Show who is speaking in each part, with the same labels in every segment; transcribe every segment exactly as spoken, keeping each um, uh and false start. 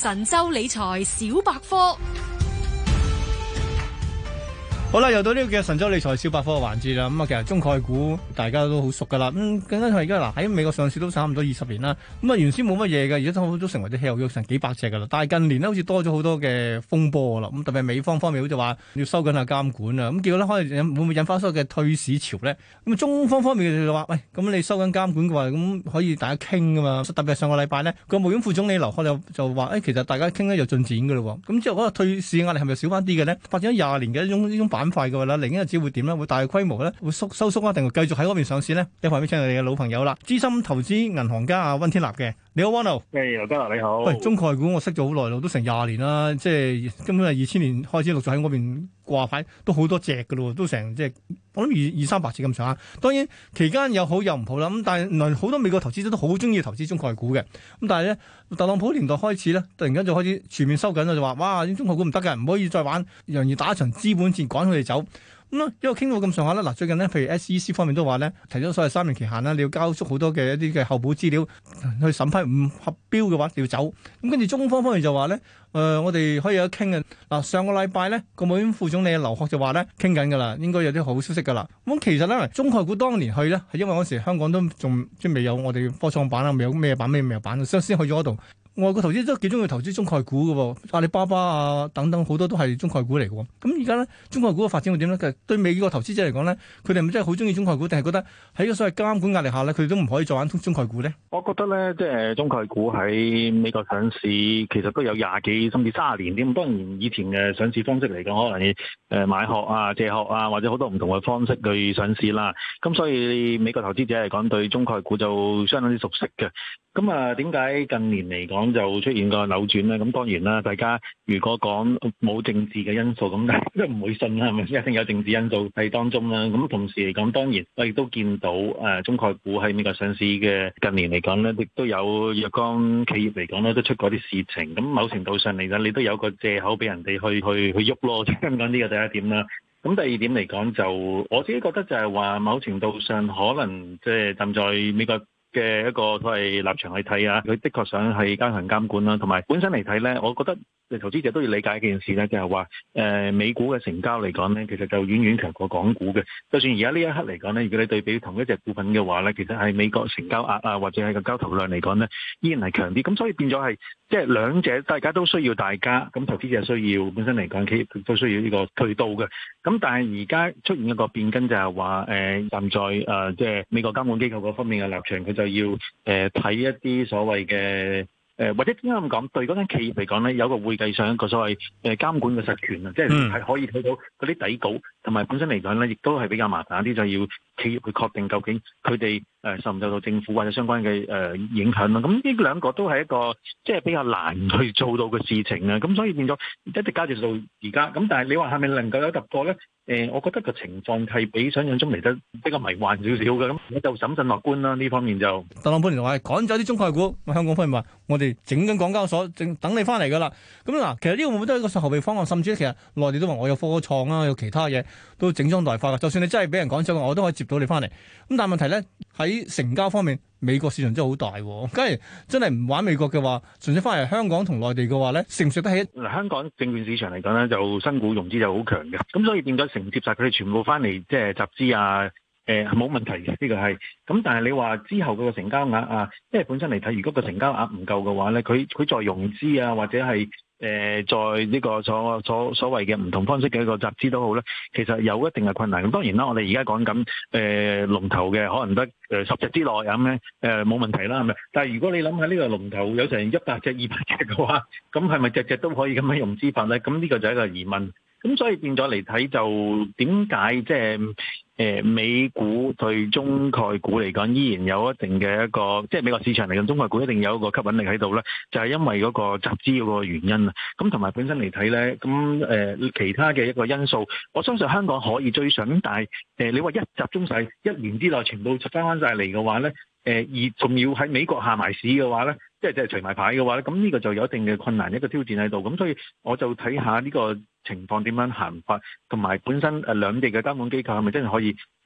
Speaker 1: 神州理財小百科。
Speaker 2: 好啦，又到呢個嘅神州理財小百科嘅環節啦。咁啊，其實中概股大家都好熟噶啦。咁更加係而家嗱喺美國上市都差唔多二十年啦。咁啊，原先冇乜嘢嘅，而家都都成為啲稀有成幾百隻噶啦。但係近年咧，好似多咗好多嘅風波啦。咁特別係美方方面好似話要收緊下監管啊。咁結果咧，可能會唔會引發所謂嘅退市潮咧？咁中方方面就話：喂，咁你收緊監管嘅話，咁可以大家傾噶嘛？特別係上個禮拜咧，國務院副總理劉鶴就就話：誒、哎，其實大家傾咧有進展噶咯。咁之後嗰個退市壓力係咪少翻啲嘅咧？發展咗廿年嘅呢種呢種板塊嘅話咧，嚟緊日子會點咧？會大規模咧？會縮收縮啊？定係繼續喺嗰邊上市咧？一塊俾請我哋嘅老朋友啦，資深投資銀行家阿溫天納嘅。你好，溫老。
Speaker 3: 誒，劉家樂你好。
Speaker 2: 喂，中概股我識咗好耐咯，都成廿年啦，即係根本係二千年開始陸續喺嗰邊掛牌，都好多隻噶咯，都成即係我諗二二三百隻咁上下。當然期間有好有唔好啦，咁但係原來好多美國投資者都好中意投資中概股嘅。咁但係咧，特朗普年代開始咧，突然間就開始全面收緊啦，就話哇，啲中概股唔得嘅，唔可以再玩，容易打一場資本戰，趕佢哋走。咁咧，因為傾到咁上下啦，嗱最近咧，譬如 S E C 方面都話咧，提咗所謂三年期限啦，你要交足好多嘅一啲嘅後補資料去審批，唔合標嘅話你要走。咁跟住中方方面就話咧，誒、呃、我哋可以有得傾嘅。嗱上個禮拜咧，國務院副總理劉鶴就話咧，傾緊㗎啦，應該有啲好消息㗎啦。咁其實咧，中概股當年去咧，係因為嗰時香港都仲即係未有我哋科創板啊，未有咩板咩咩板，所以先去咗嗰度。外國投資都幾中意投資中概股嘅喎，阿里巴巴啊等等好多都係中概股嚟嘅喎。咁而家咧，中概股嘅發展會點咧？其實對美國投資者嚟講咧，佢哋係咪真係好中意中概股，定係覺得喺個所謂監管壓力下咧，佢哋都唔可以再玩中概股咧？
Speaker 3: 我覺得咧，即係中概股喺美國上市，其實都有廿幾甚至卅年添。當然以前嘅上市方式嚟講，可能誒買殼啊、借殼啊，或者好多唔同嘅方式去上市啦。咁所以美國投資者嚟講，對中概股就相當之熟悉嘅。咁啊，點解近年嚟講就出現個扭轉咧？咁當然啦，大家如果講冇政治嘅因素，咁都唔會信啦，係咪？一定有政治因素喺當中啦。咁同時嚟講，當然我亦都見到誒中概股喺美國上市嘅近年嚟講咧，亦都有若干企業嚟講咧，都出過啲事情。咁某程度上嚟講，你都有個藉口俾人哋去去去喐咯。即係咁講，呢個第一點啦。咁第二點嚟講，就我自己覺得就係話，某程度上可能即係站在美國嘅一個所謂立場去睇啊，佢的確想係加強監管啦，同埋本身嚟睇咧，我覺得投資者都要理解一件事咧，就係話誒美股嘅成交嚟講咧，其實就遠遠強過港股嘅。就算而家呢一刻嚟講咧，如果你對比同一隻股份嘅話咧，其實係美國成交額啊，或者係個交投量嚟講咧，依然係強啲。咁所以變咗係即係兩者大家都需要大家，咁投資者需要本身嚟講，企業都需要呢個渠道嘅。咁但係而家出現一個變更就係話誒站在誒即係美國監管機構嗰方面嘅立場，佢就要誒睇、呃、一啲所謂嘅。誒或者點解咁講？對嗰間企業嚟講咧，有個會計上一個所謂誒監管嘅實權啊，即係係可以睇到嗰啲底稿，同埋本身嚟講咧，亦都係比較麻煩啲，就要企業去確定究竟佢哋誒受唔受到政府或者相關嘅誒影響啦。咁呢兩個都係一個即係比較難去做到嘅事情啊。咁所以變咗一直加住到而家。咁但係你話係咪能夠有突破咧？誒，我覺得個情況係比想象中嚟得比較迷幻少少嘅，咁我就審慎樂觀啦。呢方面就
Speaker 2: 特朗普就話趕走啲中概股，香港方面話我哋整緊港交所，正等你翻嚟噶啦。咁嗱，其實呢個會唔會都係一個後備方案？甚至其實內地都話我有科創啊，有其他嘢都整裝待發噶。就算你真係俾人趕走，我都可以接到你翻嚟。咁但係問題咧，喺成交方面，美國市場真係好大。假如真係唔玩美國嘅話，純粹翻嚟香港同內地嘅話咧，食唔食得起？
Speaker 3: 嗱，香港證券市場嚟講咧，就新股融資就好強嘅，咁所以變咗承接晒佢哋全部翻嚟，即係集資啊，誒係冇問題嘅，呢個係。咁但係你話之後嗰個成交額啊，因為本身嚟睇，如果個成交額唔夠嘅話咧，佢佢再融資啊，或者係。誒、呃，在呢個所所所謂嘅唔同方式嘅一個集資都好咧，其實有一定嘅困難。咁當然啦，我哋而家講緊誒龍頭嘅，可能得誒十隻之內咁咧，誒冇問題啦，係咪？但係如果你諗下呢個龍頭有成一百隻、二百隻嘅話，咁係咪隻隻都可以咁樣融資法咧？咁呢個就係一個疑問。咁所以變咗嚟睇，就點解即係誒美股對中概股嚟講，依然有一定嘅一個，即係美國市場嚟講，中概股一定有一個吸引力喺度咧，就係因為嗰個集資嗰個原因啊。咁同埋本身嚟睇咧，咁誒其他嘅一個因素，我相信香港可以追上，但係誒你話一集中晒一年之內全部翻翻晒嚟嘅話咧，誒而仲要喺美國下埋市嘅話咧，即係即係除埋牌嘅話咧，咁呢個就有一定嘅困難，一個挑戰喺度。咁所以我就睇下呢個情況點樣行法，同埋本身誒兩地嘅監管機構係咪真係可以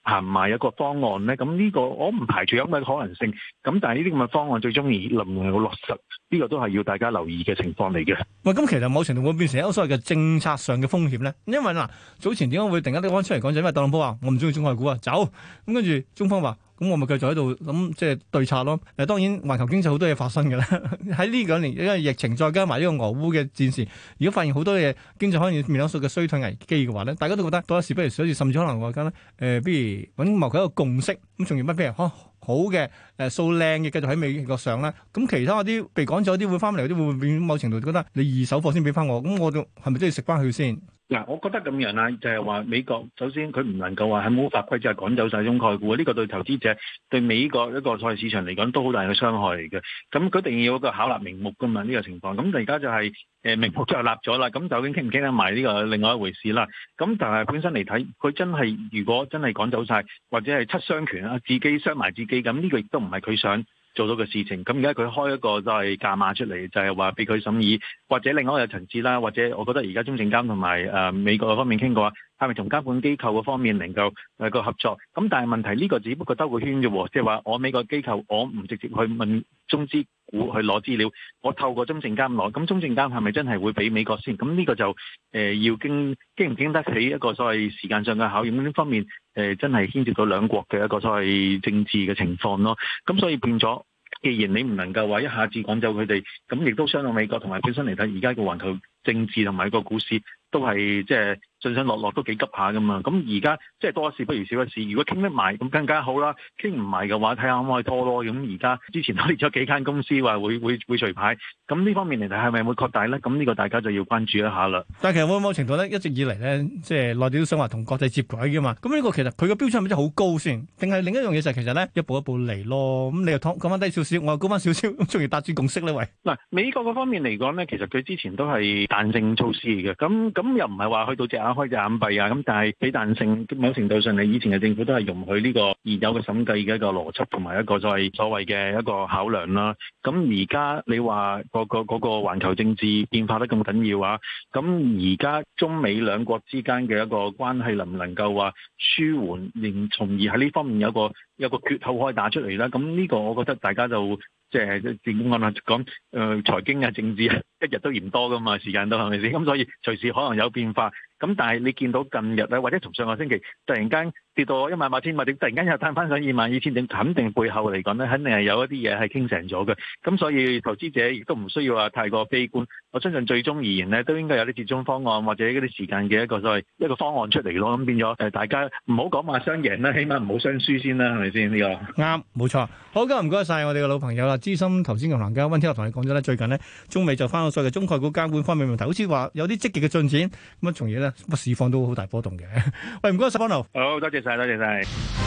Speaker 3: 行埋一個方案咧？咁呢個我唔排除有咁嘅可能性。咁但係呢啲咁嘅方案最終而能唔能夠落實，呢個都係要大家留意嘅情況嚟嘅。
Speaker 2: 喂，咁其實某程度會變成一個所謂嘅政策上嘅風險咧，因為嗱早前點解會突然間啲安出嚟講就因為特朗普話我唔中意中概股啊，走咁跟住中方話。咁我咪繼續喺度諗即係對策咯。誒當然環球經濟好多嘢發生嘅啦。喺呢兩年因為疫情再加埋呢個俄烏嘅戰事，如果發現好多嘢經濟可能面臨數嘅衰退危機嘅話咧，大家都覺得多一事不如少一事，甚至可能話緊咧誒，不如揾謀佢一個共識。咁從而乜譬如好好嘅誒數靚嘅繼續喺美國上啦。咁其他嗰啲被趕走啲會翻嚟嗰啲會唔會變某程度覺得你二手貨先俾翻我？咁我就係咪都要食翻佢先？
Speaker 3: 嗱，我覺得咁樣啦，就係話美國首先佢唔能夠話喺冇法規之下趕走晒中概股，呢個對投資者對美國一個賽市場嚟講都好大嘅傷害嚟嘅。咁佢一定要有一個巧立名目噶嘛，呢個情況。咁而家就係誒名目就立咗啦，咁究竟傾唔傾得埋呢個另外一回事啦。咁但係本身嚟睇，佢真係如果真係趕走晒，或者係七傷拳啊，自己傷埋自己，咁呢個亦都唔係佢想做到嘅事情。咁而家佢開一個就係價碼出嚟，就係話俾佢審議，或者另外一個層次啦，或者我覺得而家中證監同埋誒美國方面傾過話，係咪同監管機構嗰方面能夠誒個合作？咁但係問題呢個只不過兜個圈啫喎，即係話我美國機構我唔直接去問中資股去攞資料，我透過中證監攞，咁中證監係咪真係會俾美國先？咁呢個就誒、呃、要經經唔經得起一個所謂時間上嘅考驗，呢方面誒、呃、真係牽涉到兩國嘅一個所謂政治嘅情況咯。咁所以變咗，既然你唔能夠話一下子趕走佢哋，咁亦都傷到美國同埋本身嚟睇，而家個環球政治同埋個股市都係即係上上落落都幾急下噶嘛。咁而家即係多一事不如少一事，如果傾得埋咁更加好啦。傾唔埋嘅話，睇下可唔可以拖咯。咁而家之前都列咗幾間公司話會會會除牌，咁呢方面嚟睇係咪會擴大咧？咁呢個大家就要關注一下啦。
Speaker 2: 但係其實某某程度咧，一直以嚟咧，即係內地都想話同國際接軌嘅嘛。咁呢個其實佢個標準係咪真係好高先？定係另一樣嘢就係其實咧一步一步嚟咯。咁你又講翻低少少，我又高翻少少，咁從而達至共識咧？喂，嗱，
Speaker 3: 美國嗰方面嚟講咧，其實佢之前都係彈性措施嘅。咁咁又唔係話去到隻眼開隻眼閉啊。咁但係俾彈性，某程度上你以前嘅政府都係容許呢個現有嘅審計嘅一個邏輯同埋一個所謂所謂嘅一個考量啦。咁而家你話個個嗰個環球政治變化得咁緊要啊？咁而家中美兩國之間嘅一個關係能唔能夠話舒緩，連從而喺呢方面有個有個缺口可以打出嚟啦？咁呢個我覺得大家就即係點講啊？講誒、呃、財經啊、政治啊，一日都嫌多噶嘛，時間都係咪先？咁所以隨時可能有變化。咁但係你見到近日咧，或者從上個星期突然間跌到一萬八千或者突然間又彈翻上二萬二千點，肯定背後嚟講咧，肯定係有一啲嘢係傾成咗嘅。咁所以投資者亦都唔需要話太過悲觀。我相信最終而言咧，都應該有啲折中方案或者嗰啲時間嘅一個所謂一個方案出嚟咯。咁變咗誒，大家唔好講話雙贏啦，起碼唔好雙輸先啦，係咪先呢個？啱，冇錯。好，今日唔該晒我哋嘅老朋友啦，資深投資銀行家溫天納同你講咗咧，最近呢，中美就翻到所謂嘅中概股監管方面問題，好似話有啲積極嘅進展，咁啊，從而咧，乜市況都好大波動嘅。喂，唔該晒，方頭。 好，多謝晒，多謝晒。